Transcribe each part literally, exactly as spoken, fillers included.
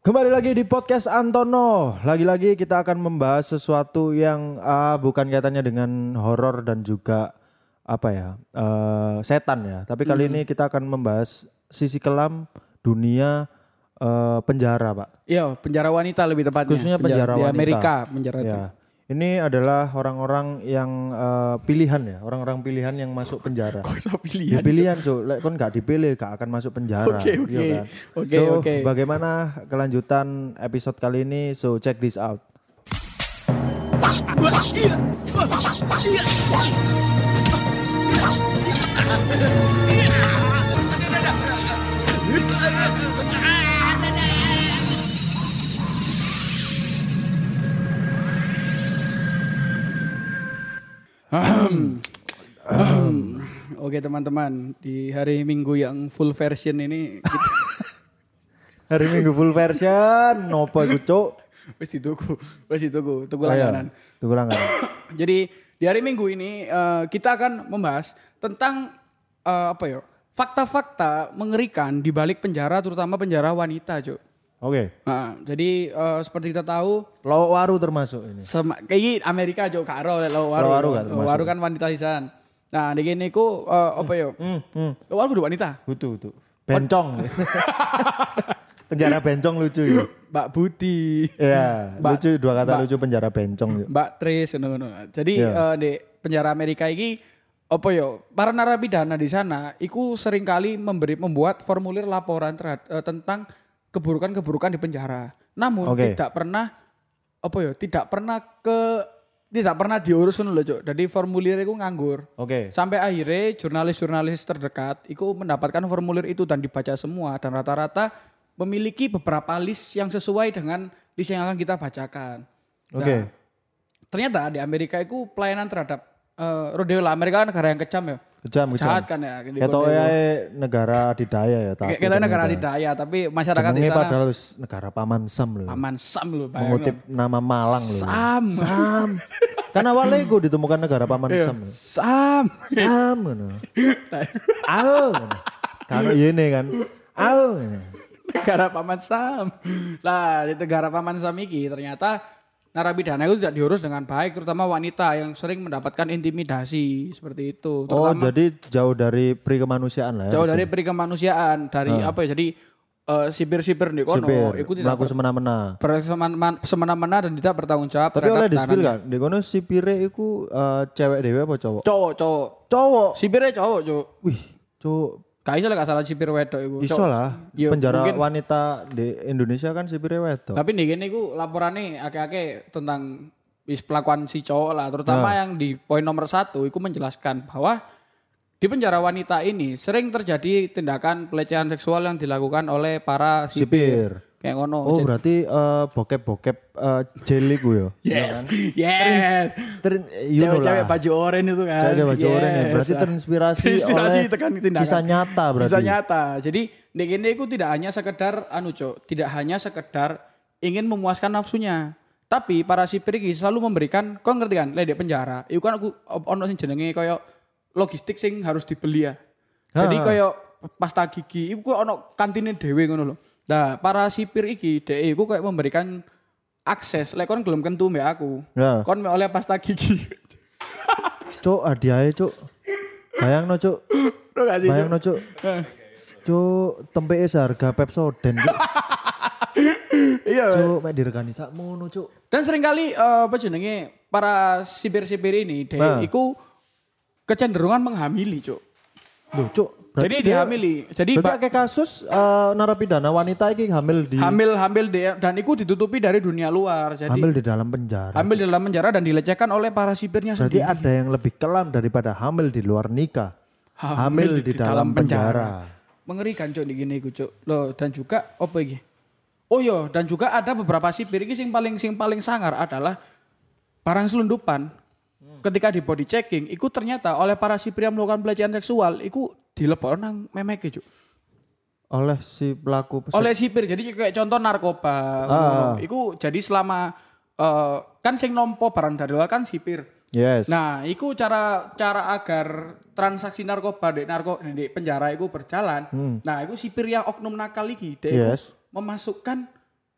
Kembali lagi di podcast Antono. Lagi-lagi kita akan membahas sesuatu yang uh, bukan kaitannya dengan horor dan juga apa ya uh, setan ya. Tapi kali hmm. ini kita akan membahas sisi kelam dunia uh, penjara, Pak. Iya, penjara wanita lebih tepatnya. Khususnya penjara, penjara wanita di Amerika, penjara ya. itu. Ini adalah orang-orang yang uh, pilihan ya, orang-orang pilihan yang masuk penjara. Kok so pilihan? Ya pilihan, Cuk. Lek kon gak dipilih gak akan masuk penjara. Oke, oke. Iya kan? Oke, so, oke. bagaimana kelanjutan episode kali ini? So, check this out. Um, um, Oke teman-teman, di hari Minggu yang full version ini kita... Hari Minggu full version, nopo iku, Cuk? Wis dituku, wis dituku, tuku Oh, iya. langganan. Tuku langganan. Jadi di hari Minggu ini uh, kita akan membahas tentang uh, apa ya? Fakta-fakta mengerikan di balik penjara, terutama penjara wanita, Cuk. Oke. Okay. Nah, jadi uh, seperti kita tahu, Lowok Waru termasuk ini. Sema, kayak Amerika Cuk, karo Lowok Waru. Lowok Waru kan termasuk. Waru kan wanita sisan. Nah, di gini ku uh, apa ya? Hmm, hmm. Lowok Waru kudu wanita. Betul, betul. Bencong. Penjara bencong lucu ya. Mbak Budi. Iya, Mbak, lucu dua kata Mbak, lucu penjara bencong. Mbak Tris ngono-ngono. Jadi yeah. uh, di penjara Amerika ini apa yo? Para narapidana di sana iku seringkali memberi membuat formulir laporan terhadap uh, tentang keburukan-keburukan di penjara. Namun okay. tidak pernah apa ya? Tidak pernah ke tidak pernah diurus ngono lho, Cuk. Jadi formulir itu nganggur. Oke. Okay. Sampai akhirnya jurnalis-jurnalis terdekat itu mendapatkan formulir itu dan dibaca semua dan rata-rata memiliki beberapa list yang sesuai dengan list yang akan kita bacakan. Oke. Okay. Nah, ternyata di Amerika itu pelayanan terhadap uh, rodeo lah. Amerika kan negara yang kejam ya. Kejam, kejam. Jahat kan ya. Kita ya negara adidaya ya. Tapi kita negara adidaya, tapi masyarakat di sana. Padahal negara Paman Sam loh. Paman Sam loh. Mengutip nama Malang loh. Sam. Sam. Karena awalnya gue ditemukan negara Paman Sam. Sam. Sam. Ayo. Kalau ini kan. Ayo. Negara Paman Sam. Lah di negara Paman Sam ini ternyata narapidana itu tidak diurus dengan baik, terutama wanita yang sering mendapatkan intimidasi seperti itu. Oh, jadi jauh dari peri kemanusiaan lah ya. Jauh dari peri kemanusiaan, dari ah. apa ya? Jadi uh, sipir-sipir nih kono, itu tidak melakukan semena-mena. Semena-mena dan tidak bertanggung jawab. Tapi oleh dispil kan, di kono sipire iku uh, cewek dewe apa cowok? Cowok, cowok. Cowok. Sipirnya cowok, Cuk. Wih, cowok. Gak iso lah gak salah sipir wedok iku. Iso lah. Yo, penjara mungkin, wanita di Indonesia kan sipir wedok. Tapi nih gini iku laporannya akeh-akeh tentang bis pelakuan si cowok lah, terutama nah. yang di poin nomor satu iku menjelaskan bahwa di penjara wanita ini sering terjadi tindakan pelecehan seksual yang dilakukan oleh para sipir. sipir. Kayak ngono. Oh, berarti uh, bokep-bokep uh, jeli gue ya. Yes. Yes. Terin, you know cewek baju oranye itu kan. Cewek baju yes. oranye. Berarti terinspirasi, terinspirasi oleh kisah nyata berarti. Kisah nyata. Jadi nek ini itu tidak hanya sekedar anu, Cuk, tidak hanya sekedar ingin memuaskan nafsunya. Tapi para sipir iki selalu memberikan, kau ngerti kan, lek di penjara, iku kan aku ono sing jenenge koyo logistik sing harus dibeli ya. Jadi koyo pasta gigi iku ono kantine dhewe ngono lho. Nah, para sipir iki dhek iku kayak memberikan akses, lek kon gelem kentu mbek aku. Ya. Kon oleh pasta gigi. Cuk, hadiahe, Cuk. Bayangno, Cuk. Bayangno, Cuk. Cuk, tempeke seharga Pepsodent, Cuk. Iya, Cuk, mek diregani sakmono, Cuk. Dan seringkali uh, apa jenenge para sipir-sipir ini dhek nah. iku kecenderungan menghamili, Cuk. Loh, Cuk. Berarti jadi dihamili. Jadi kayak kasus uh, narapidana wanita ini hamil di hamil hamil di, dan itu ditutupi dari dunia luar. Jadi hamil di dalam penjara. Hamil di dalam penjara dan dilecehkan oleh para sipirnya berarti sendiri. Berarti ada yang lebih kelam daripada hamil di luar nikah. Hamil, hamil di, di dalam, dalam penjara. penjara. Mengerikan, Cuk, gini iku, Cuk. Loh, dan juga apa iki? Oh iya, dan juga ada beberapa sipir iki sing paling sing paling sangar adalah barang selundupan. Hmm. Ketika di body checking, itu ternyata oleh para sipir yang melakukan pelecehan seksual, itu dilebokno nang memeke, Cuk. Oleh si pelaku peset. Oleh sipir. Jadi kayak contoh narkoba. Ah. Iku jadi selama uh, kan sing nompo barang dari luar kan sipir. Yes. Nah, iku cara cara agar transaksi narkoba di narko di penjara iku berjalan. Hmm. Nah, iku sipir yang oknum nakal iki, dia yes. iku memasukkan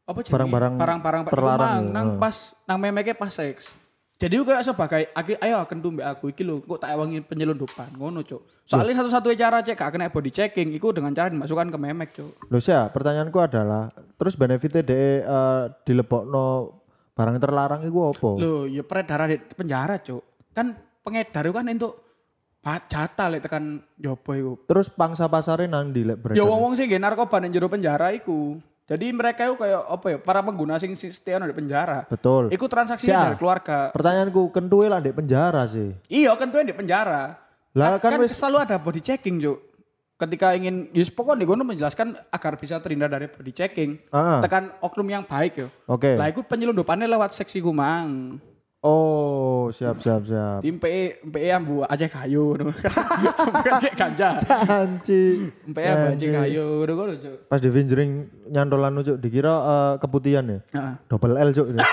apa jenenge? Barang-barang barang-barang terlarang terlarang ya. nang Heeh. pas nang memeke pas seks. Jadi aku kayak sebagai aku, ayo kentu mbak aku iki lho kok tak ewangi penyelundupan ngono cuk. Soalnya satu-satunya cara cek gak kena body checking iku dengan cara dimasukkan ke memek cuk. Loh sih, pertanyaanku adalah terus benefitnya de uh, dilebokno barang terlarang iku apa? Loh ya peredaran di penjara cuk. Kan pengedar itu kan untuk jatah lek tekan jopo iku. Terus pangsa pasare nang di lek Ya beredar. wong-wong sing nggih narkoba nang jero penjara iku. Jadi mereka itu kayak apa ya para pengguna sing stay di penjara. Betul. Iku transaksi Sia. dari keluarga. Pertanyaanku kentuwe lah di penjara sih. Iya kan tuh di penjara. Lah, kan, kan kan wis- selalu ada body checking cuk. Ketika ingin, yus pokoknya gue menjelaskan agar bisa terhindar dari body checking. Ah. Tekan oknum yang baik yo. Oke. Lah itu penyelundupannya lewat seksi kumang. Oh, siap siap siap. Tim P E P E ambu aja kayu. Bukan kayak ganja. Anci. P E ambu aja kayu. Udah gue lucu. Pas di fingering nyantolan lu, Cuk, dikira eh, keputihan ya. Heeh. Double L, Cuk. Ini.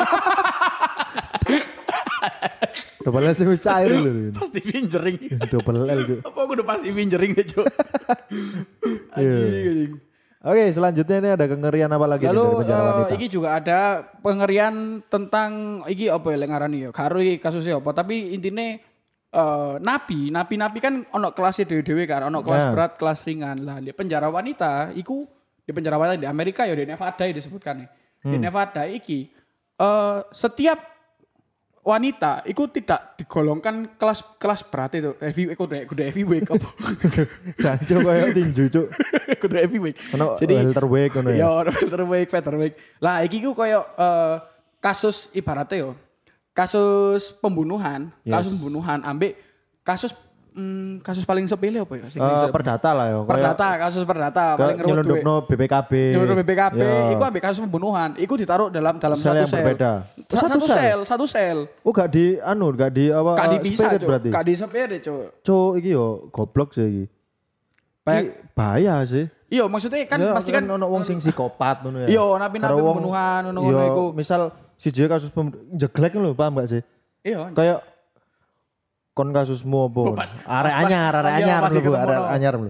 Double L sih wis cair lho. ini. Pasti pinjering. Double L, Cuk. Apa gue udah pasti pinjering deh cuk. Iya. Anjing, anjing. Oke, selanjutnya ini ada kengerian apa lagi nih Lalu dari penjara eh, wanita? iki juga ada pengerian tentang iki apa ya lek ngarani ya. Karo iki kasusnya apa, tapi intine eh napi, napi-napi kan ono kelasnya dewe-dewe kan, ono kelas Ya. berat, kelas ringan. Lah di penjara wanita iku di penjara wanita di Amerika ya di Nevada ya disebutkan nih. Di Nevada iki eh setiap wanita itu tidak digolongkan kelas kelas berat itu. Heavy kudu kudu heavyweight apa. Jancuk koyo tinju, Cuk. Kudu heavyweight. Ono welterweight ngono ya. Ya, ono welterweight, featherweight. Lah iki ku koyo eh, kasus ibaratnya yo. Kasus pembunuhan, Yes. kasus pembunuhan ambek kasus mm, kasus paling sepele apa ya? Sing Eh, bisa- perdata lah ya. Koyo perdata, kasus perdata paling ngerut duit. nyelundupno B P K B. Menurut B P K B, Ya. iku ambek kasus pembunuhan, iku ditaruh dalam dalam Sel satu yang sel. berbeda. Sa- Satu Satu, sel? sel, satu sel. Oh, gak di anu, gak di apa? Gak eh, dipisah, spirit Cuk. berarti. Gak di sepede, Cuk. Cuk, iki yo goblok sih iki. Banyak- Iki bahaya sih. Iya, maksudnya kan Ya, pasti kan ono wong sing psikopat ngono ya. Iya, napi-napi Karo wong- pembunuhan, ngono-ngono iya, iku. misal siji kasus pem- jeglek lho, paham gak sih? iya. Kayak kon kasusmu apa? Oh, pas- Arek pas- anyar, pas- arek iya, anyar masih lho, Bu, ketemu, arek no. anyar lho.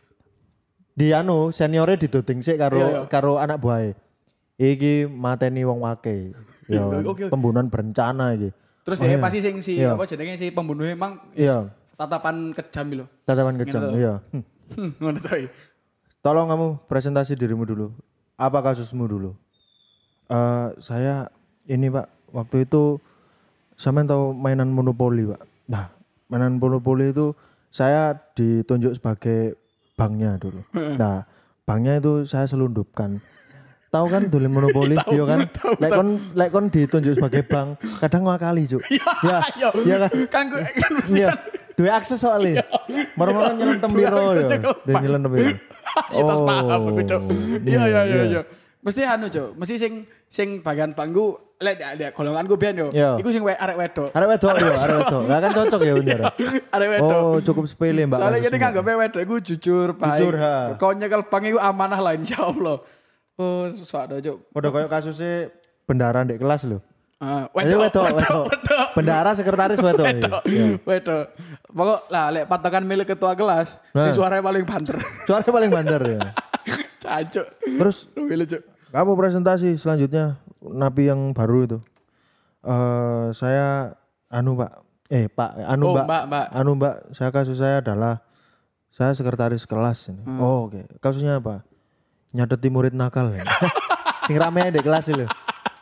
Di anu seniore didoding sik karo Iya, iya. karo anak buahe. Iki mateni wong wake. Ya, Oke, oke. pembunuhan berencana iki. Terus Oh, dia iya. pasti sing si Iya. apa jenenge si pembunuhnya emang Iya. tatapan kejam lho. Tatapan kejam, Gitu. iya. Hmm. Hmm, ngono to. iya. Tolong kamu presentasi dirimu dulu. Apa kasusmu dulu? Eh saya ini Pak, waktu itu sampean tahu mainan monopoli Pak. Nah, mainan monopoli itu saya ditunjuk sebagai banknya dulu. Nah, banknya itu saya selundupkan. Tahu kan dolen monopoli, Tahu, iya kan? tahu, Lek kon lek kon ditunjuk sebagai bank, kadang ngakali, Cuk. Ya, Iya, iya kan? Kan gue kan mesti Iya. kan Duwe akses soalnya. Moro-moro nyelentem piro akses ya. nyekel Dia nyelentem piro. ya tas paham aku, Cuk. Iya iya iya iya. iya. Mesti anu, Cuk. Mesti sing sing bagian bangku lek ada golonganku biyen yo. Iya. Iku sing we- arek wedok. Arek wedok ya, arek wedok. Lah kan cocok ya bener. Arek wedok. Oh, cukup sepele Mbak. Soalnya kasusnya. gini kan gue wedok iku jujur, baik. Jujur, ha. Kau nyekel bank iku amanah lah insyaallah. Oh, sok Cuk. Udah koyo kasusnya bendara di kelas lho. Ah, Jadi wedok, wedok. Bendara sekretaris wedok. Wedok. Iya. Wedok. Pokok lah lek patokan milik ketua kelas, Nah. di suaranya paling banter. Suara paling bandar ya. Cancuk. Terus Luwih lucu. kamu presentasi selanjutnya napi yang baru itu. Eh saya anu Pak. Eh Pak, anu Oh, Mbak. Mbak, Mbak. Anu Mbak, saya kasus saya adalah saya sekretaris kelas ini. Hmm. Oh, oke. Kasusnya apa? Nyateti murid nakal. Ya. Sing rame di kelas itu.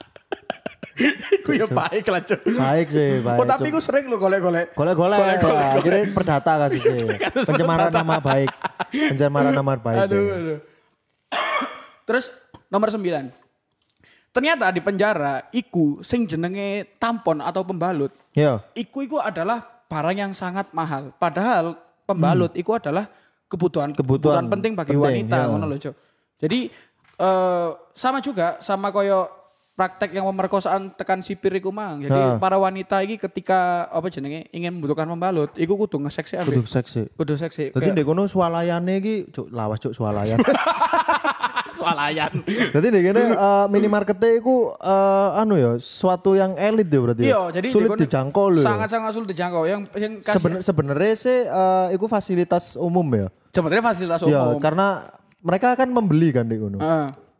Ku ya baik lah, Cuk. Baik sih, baik. Oh, tapi Cuk. ku sering lo golek-golek. Golek-golek, Golek-golek, golek. akhirnya perdata kasusnya. Pencemaran nama baik. Pencemaran nama baik. Aduh, ya. aduh. Terus nomor sembilan. Ternyata di penjara iku sing jenenge tampon atau pembalut. Iya. Iku iku adalah barang yang sangat mahal. Padahal pembalut iku adalah kebutuhan Kebutuhan kebutuhan penting bagi penting, wanita, ya. ngono lho, Cuk. Jadi eh, sama juga sama koyo praktek yang pemerkosaan tekan sipir iku mang. Jadi Ha. para wanita iki ketika apa jenenge ingin membutuhkan pembalut, iku kudu ngeseksi ambek Kudu seksi. kudu seksi. Dadi ndek kono swalayane iki cuk lawas cuk swalayan. Swalayan. Dadi ndek kene eh, minimarkete iku eh, anu ya, suatu yang elit ya berarti. ya? Iya, jadi sulit di kono dijangkau lho. ya. Sangat-sangat sulit dijangkau. Yang yang kasih Seben- sebenarnya sih eh, iku fasilitas umum ya. sebenarnya fasilitas Ya, umum. karena mereka kan membeli kan di kono. Heeh.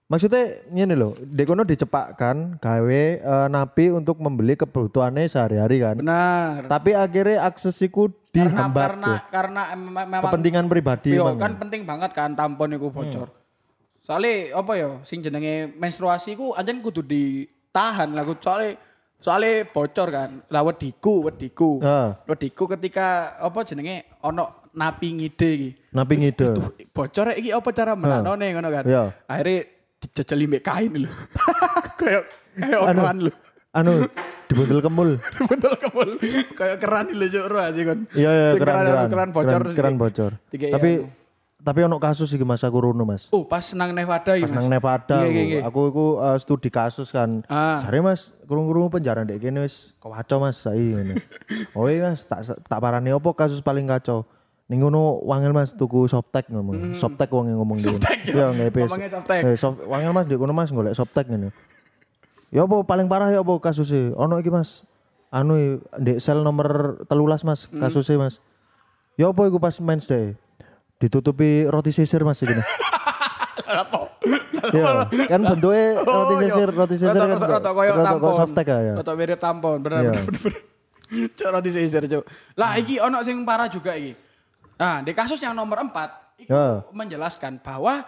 Maksudnya ini loh, dekono dicepakkan gawe uh, napi untuk membeli kebutuhannya sehari-hari kan. Benar. Tapi akhirnya aksesiku dihambat karena tuh. karena memang Kepentingan pribadi yo, emang. kan penting banget kan tampon iku bocor. Hmm. Soalnya apa ya sing jenenge menstruasi ku anjen kudu ditahan lah soalnya soalnya bocor kan. Lah wediku, wediku. Uh. Wediku ketika apa jenenge ono napi ngide iki. Napi ngide. Bocor iki apa cara menanone uh. ngono kan. Yeah. Akhirnya dijejeli mbek kain lho. Kayak kayak omongan lho. Anu dibuntel kemul. Dibuntel kemul. Kayak keran lho cuk ro asih kon. Iya iya keran keran. Keran bocor. Keran, keran bocor. Tapi ya. Tapi ono kasus iki Mas aku rono Mas. Oh, pas nang Nevada iki Mas. Pas nang Nevada. Iya, iya, iya. Aku iku uh, studi kasus kan. Ah. Jare Mas, krungu-krungu penjara ndek kene wis kacau Mas saiki ngene. Oh iya Mas, tak tak parani opo kasus paling kacau. Ning ngono wangel Mas tuku Softtek ngomong. Mm. Softtek wong ngomong dhewe. Ya ngepes. Ngomongnya Softtek. Eh soft, wangel Mas ndek kono Mas golek Softtek ngene. Ya apa paling parah ya apa kasusnya? Ono iki Mas. Anu ndek sel nomor telulas Mas kasusnya Mas. Ya apa iku pas mens deh. Ditutupi roti sisir Mas iki. Apa? Ya, kan bentuknya roti sisir, roti sisir kan. Roti koyo tampon. Softtek ya. Roti mirip tampon, bener bener bener. Cuk roti sisir, cuk. Lah iki ono sing parah juga iki. Nah, di kasus yang nomor empat itu ya. Menjelaskan bahwa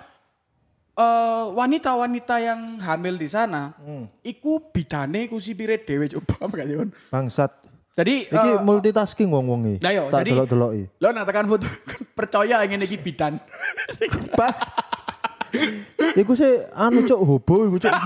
uh, wanita-wanita yang hamil di sana, hmm. iku bidane ku sipire dhewe coba gak sih kon? Bangsat. Jadi iki uh, multitasking wong-wong iki. Lah yo, tak jadi delok-deloki. Lho nak tekan foto percaya ngene iki bidan. Bas. Iku sih anu cuk hobo iku cuk.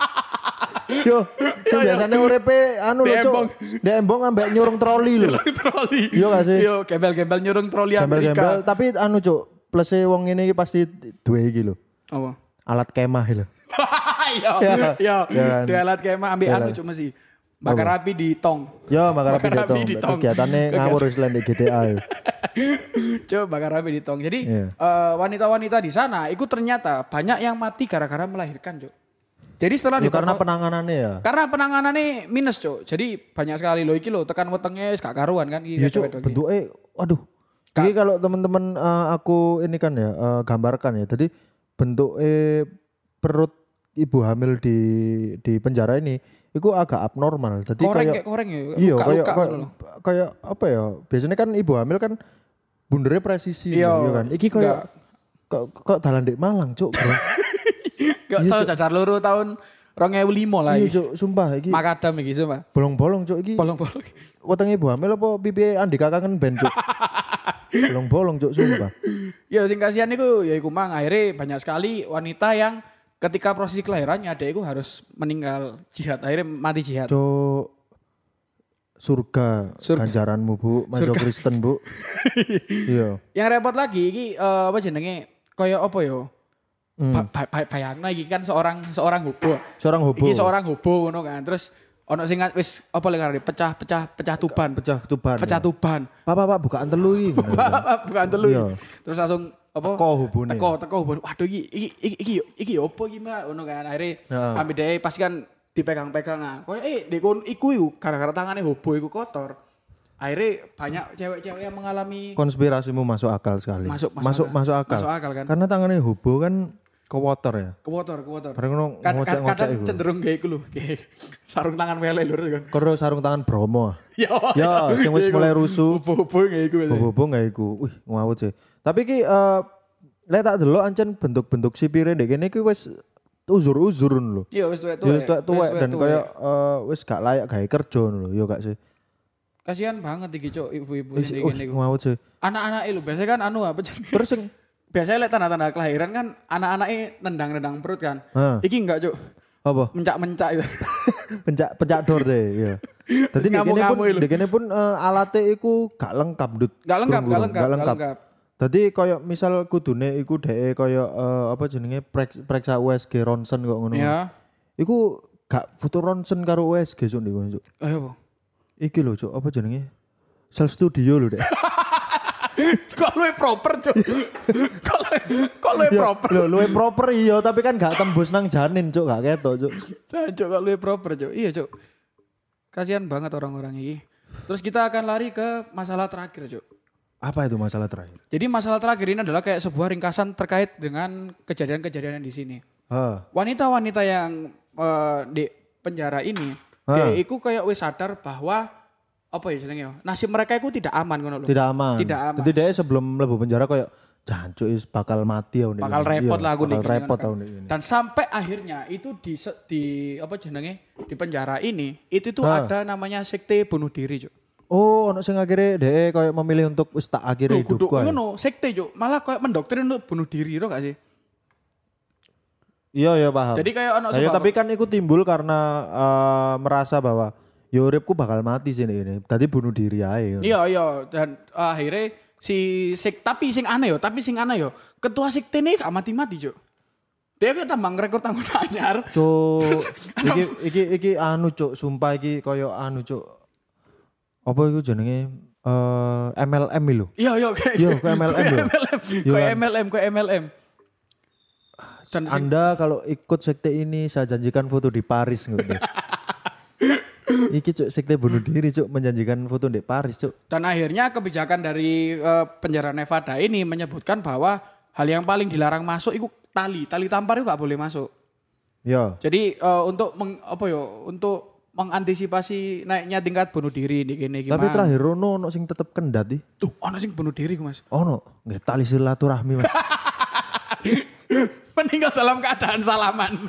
Yo, sing biasane urepe anu lho cuk. Ndek embong ambek nyurung troli lho. Troli. Yo gak sih? Yo gembel-gembel nyurung troli Amerika. Gembel-gembel, tapi anu cuk, plese wong ngene iki pasti duwe iki lho. Apa? Alat kemah lho. Yo, yo. Di alat kemah ambek anu cuk mesti. Bakar api di tong. Yo, bakar api di tong. Kegiatannya ngawur wis di G T A yo. Coba bakar api di tong. Jadi wanita-wanita di sana itu ternyata banyak yang mati gara-gara melahirkan cuk. Jadi setelah ya, karena penanganannya ya. Karena penanganannya minus, Cuk. Jadi banyak sekali loh iki loh tekan wetenge wis gak karuan kan iki. Iya, Cuk. Bentuke waduh. Iki kalau teman-teman uh, aku ini kan ya uh, gambarkan ya. Jadi bentuke perut ibu hamil di di penjara ini itu agak abnormal. Jadi koreng, kayak koreng ya. Iya, kayak kayak, kayak apa ya? Biasanya kan ibu hamil kan bundere presisi iya kan. Iki kayak kok kok dalan ndek Malang, Cuk. Gak salah cacar loro tahun dua ribu lima lah. Iya cuk, sumpah iki. Makadam iki sumpah. Bolong-bolong cuk iki. Bolong-bolong. Wetenge ibu hamil apa pipi Andika kangen ben cuk. Bolong-bolong cuk sumpah. Ya sing kasihan iku ya iku mang akhirnya banyak sekali wanita yang ketika proses kelahirannya adekku harus meninggal jihad, akhirnya mati jihad. Cuk. Surga, surga ganjaranmu Bu, masuk Kristen Bu. Iya. Yang repot lagi iki uh, apa jenenge kaya apa yo? Hmm. Ba ba bayangna iki kan seorang seorang hobo. Seorang hobo. Iki seorang hobo ngono kan. Terus ono sing wis apa lek arep pecah-pecah pecah tuban. Pecah tuban. Pecah tuban. Pak pak pak bukaan telu iki. Pak bukaan telu. Terus langsung apa? Teko hobone. Teko teko hobone. Waduh iki iki iki iki iki opo iki Mbak ngono kan. Akhire ambil dhewe pasti kan dipegang-pegang ah. Koyo eh dekon iku iku gara-gara tangane hobo iku kotor. Akhirnya banyak cewek-cewek yang mengalami konspirasimu masuk akal sekali. Masuk masuk, masuk, akal. masuk akal. Masuk akal kan. Karena tangannya hobo kan kewotor ya. Kewotor, kewotor. Kadang kad, kad, kadang cenderung kayak iku lho, kayak sarung tangan mele lho kan. Karo sarung tangan Bromo. Ya, ya sing wis mulai rusuh. Hobo-hobo kayak iku. Hobo-hobo kayak iku. Wih, ngawut sih. Tapi ki uh, lek tak delok ancen bentuk-bentuk sipire ndek kene iki wis uzur-uzurun lho. Iya, wis tuwek-tuwek. Wis tuwek dan kaya uh, wis gak layak gawe kerja lho, ya gak sih. Kasihan banget iki cuk ibu-ibu ini kene iku. Ngawut sih. Anak-anak lho biasanya kan anu apa terus sing biasanya lihat tanda-tanda kelahiran kan anak-anaknya nendang-nendang perut kan. Ha. Iki enggak cuk. Apa? Mencak-mencak itu. pencak pencak dor deh, ya. Dadi dekene pun dekene pun uh, alate iku gak lengkap, Dut. Gak lengkap, gak lengkap, gak lengkap. Dadi koyo misal kudune iku dhek koyo uh, apa jenenge preksa U S G ronsen kok ngono. Iya. Iku gak foto ronsen karo U S G cuk niku, Cuk. Ayo apa? Iki lho, Cuk, apa jenenge? Self studio lho, Dek. Kok luwe proper cuk. Kok kok luwe proper. Lho luwe proper iya tapi kan gak tembus nang janin cuk gak ketok cuk. Cuk kok luwe proper cuk. Iya cuk. Kasihan banget orang-orang ini. Terus kita akan lari ke masalah terakhir cuk. Apa itu masalah terakhir? Jadi masalah terakhir ini adalah kayak sebuah ringkasan terkait dengan kejadian-kejadian di sini. Heeh. Wanita-wanita yang uh, di penjara ini, dia iku kayak wis sadar bahwa apa ya jenenge nasib mereka itu tidak aman ngono lho. Tidak aman. Tidak aman. Jadi dia sebelum mlebu penjara kayak jancuk is bakal mati ya bakal repot lah aku bakal nih, repot kan. tahun ini. Dan sampai akhirnya itu di di apa jenenge di penjara ini itu tuh Ha. ada namanya sekte bunuh diri, Cuk. Oh, ono sing akhirnya dia kayak memilih untuk wis tak akhiri Loh, kudu hidupku. ae. ngono, sekte, Cuk. Malah kayak mendoktrin untuk bunuh diri, lo gak sih? Iya ya paham. Jadi kayak ono Nah, ya, tapi kan itu timbul karena eh, merasa bahwa ya uripku bakal mati sini ini. Tadi bunuh diri aja. Iya, iya, dan uh, akhirnya si sek tapi sing aneh yo, tapi sing aneh yo, ketua sekte ini gak mati-mati, Cuk. Dia kan tambang rekor anggota anyar. Cuk, iki iki iki anu cuk, sumpah iki koyo anu cuk. Apa iku jenenge eh M L M lho. Iya, iya, kayak Iya, kayak M L M lho. Iya kayak kan? M L M, kayak M L M. Dan sing- Anda kalau ikut sekte ini saya janjikan foto di Paris ngono. Iki cuk sekte bunuh diri cuk menjanjikan foto di Paris cuk. Dan akhirnya kebijakan dari uh, penjara Nevada ini menyebutkan bahwa hal yang paling dilarang masuk itu tali, tali tampar itu gak boleh masuk. Ya. Jadi uh, untuk meng, apa yo, untuk mengantisipasi naiknya tingkat bunuh diri di kene iki. Tapi Mang. terakhir ono ono sing tetep kendat ih. tuh ana sing bunuh diri ku, Mas. Ono, nggak tali silaturahmi Mas. Meninggal dalam keadaan salaman.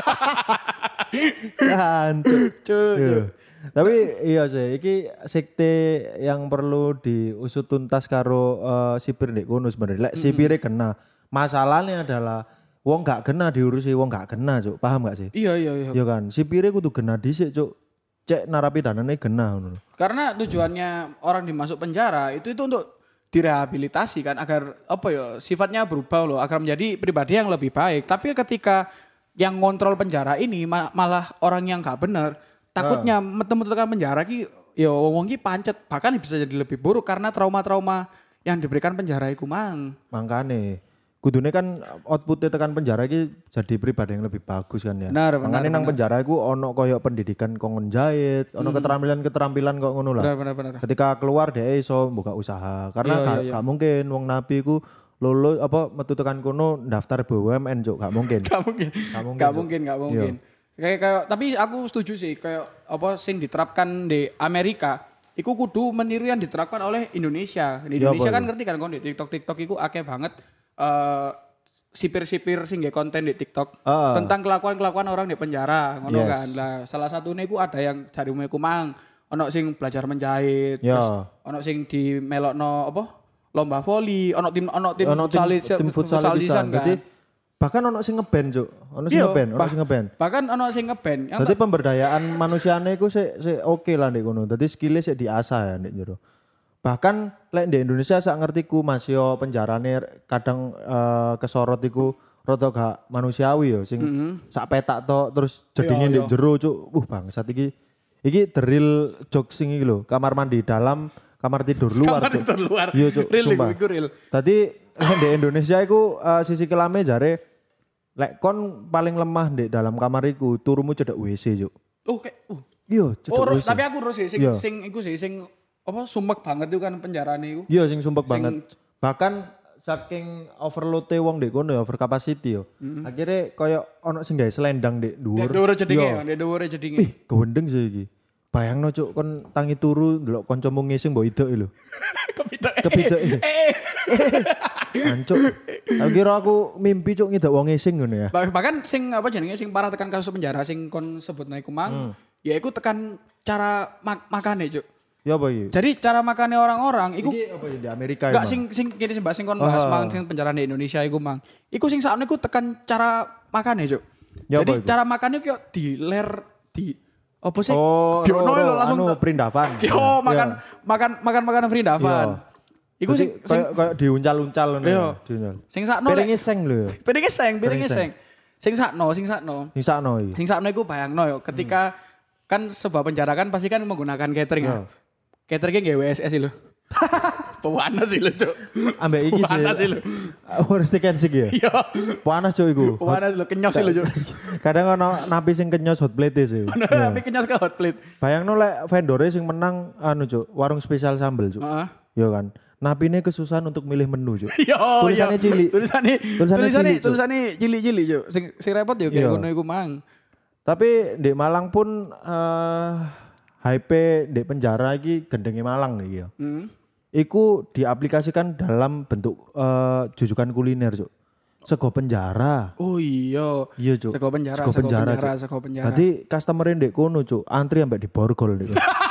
Kan cuk. Cuk, Iya. cuk. Tapi iya sih, iki sekte yang perlu diusut tuntas karo eh, sipir ndek kono sebenarnya. Lek sipire kena, masalahnya adalah wong gak kena diurusi wong gak kena, Cuk. Paham gak sih? Iya, iya, iya. Iya kan, sipire kudu kena dhisik, Cuk. Cek narapidanane kena ngono. Karena tujuannya orang dimasuk penjara itu itu untuk direhabilitasi kan agar apa ya sifatnya berubah loh agar menjadi pribadi yang lebih baik. Tapi ketika yang ngontrol penjara ini ma- malah orang yang gak bener, takutnya metu-metu tekan penjara ki ya wong ki pancet bahkan bisa jadi lebih buruk karena trauma-trauma yang diberikan penjara iku mang. Makane kudune kan outputnya tekan penjara iki jadi pribadi yang lebih bagus kan ya. Benar, benar, Makane nang benar. penjara iku ono koyo pendidikan kongon jahit, ono keterampilan-keterampilan kok ngono lah. Benar benar benar. Ketika keluar dia iso buka usaha karena Iya, gak, iya, iya. gak mungkin wong nabi ku lulus apa metu tekan kono daftar B U M N Cuk, gak mungkin. Gak mungkin. Gak mungkin, Gak Cuk. mungkin, gak mungkin. Kayak kayak tapi aku setuju sih kayak apa sing diterapkan di Amerika iku kudu meniru yang diterapkan oleh Indonesia. Di Iya, Indonesia apa kan ngerti kan kon di TikTok TikTok iku akeh banget eh sipir-sipir sing nggih konten di TikTok Ah. tentang kelakuan-kelakuan orang di penjara ngono Yes. kan. Lah salah satunya iku ada yang dari ku mang ono sing belajar menjahit, Ya. terus ono sing di melokno apa? Lomba voli, ono tim ono tim Ono tim, futsal tim futsal futsal bisa. kan. Jadi bahkan ono sing ngeband Cuk. Ono sing Iya, ngeband, ono bah- sing ngeband. Bahkan ono sing ngeband. Yang Jadi pemberdayaan manusiane iku sik sik oke lah ndek kono. Dadi skillnya sik diasah ya ndek jero. Bahkan lek di Indonesia sak ngertiku Mas yo penjarane kadang eh, kesorot iku rada gak manusiawi yo sing sak petak tok terus jedinge Iya, ndek iya. jero Cuk. Uh bangsat iki. Iki the real jokes sing iki lho. Kamar mandi dalam, kamar tidur luar kamar Cuk. itu luar. Iya Cuk, Real sumpah. iku, iku real. Tadi di Indonesia iku eh, sisi kelame jare lek kon paling lemah di dalam kamar iku turumu cedek W C Cuk. Oh kayak uh. Iya, cedek Oh, W ro- C. tapi aku terus sih sing Iya. sing iku sih sing apa sumek banget itu kan penjarane iku. Iya sing sumpek Sing- banget. Bahkan saking overload wong ndek kono ya over capacity yo. Akhirnya koyo ono sing gawe selendang ndek Dek dhuwur. dhuwure jedinge, Iya. dek dhuwure jedinge. Ih, kewendeng sih iki. Bayangno cuk kon tangi turu ndelok kancamu ngising mbok idok lho. Kepitek. Kepitek. Eh, Ancuk. Aku kira aku mimpi cuk ngidok wong ngising ngono ya. bah- bahkan sing apa jenenge sing parah tekan kasus penjara sing kon sebut naik Hmm. kumang, ya iku tekan cara mak makane, Cuk. Ya apa iki? Jadi cara makannya orang-orang iku Iki apa ya di Amerika Enggak emang? sing sing kini sing bahas sing kon bahas Ah. mang sing penjara di Indonesia iku mang. Iku sing sakne iku tekan cara makane, Cuk. Ya Jadi apa iku? cara makannya kayak di ler di apa sih? Oh, Diono ro- ro- lho, langsung anu perindavan. Yo makan Iya. makan makan makanan Frindavan. Iku Jadi sing sing kayak kayak diuncal-uncal ngono. Iya. ya, diuncal. sing sakno Piringnya seng lho ya. piringe seng, piringe Piring seng. seng. Sing sakno, sing sakno. Sing sakno iki. Sing sakno iku bayangno yo ketika kan sebuah penjara kan pasti kan menggunakan catering ya. Iya. Cateringnya nggak W S S sih lho. Pewanas sih lho, Cuk. Ambek iki sih. Panas sih lho. Harus tekan sih ya. Iya. Panas cuk iku. Pewanas lho, kenyos sih lho, Cuk. Kadang ono napi sing kenyos hot plate sih. Tapi kenyos ke hot plate. Bayangno lek vendore sing menang anu cuk, warung spesial sambel cuk. Heeh. Yo kan. napine kesusahan untuk milih menu, Cuk. Yo, Tulisannya yo. cilik. Tulisannya Tulisannya tulisannya cilik, Cuk. tulisannya cilik-cilik, Cuk. Sing sing repot yo kayak Iya. ngono iku mang. Tapi di Malang pun eh hype di penjara iki gendenge Malang nih ya. Hmm. Iku diaplikasikan dalam bentuk eh, jujukan kuliner, Cuk. Sego penjara. Oh iya. Iya, Cuk. Sego penjara, Sego sego penjara, penjara, Cuk. sego penjara. Tadi customer ndek kono, Cuk. Antri ambek di borgol ndek kono.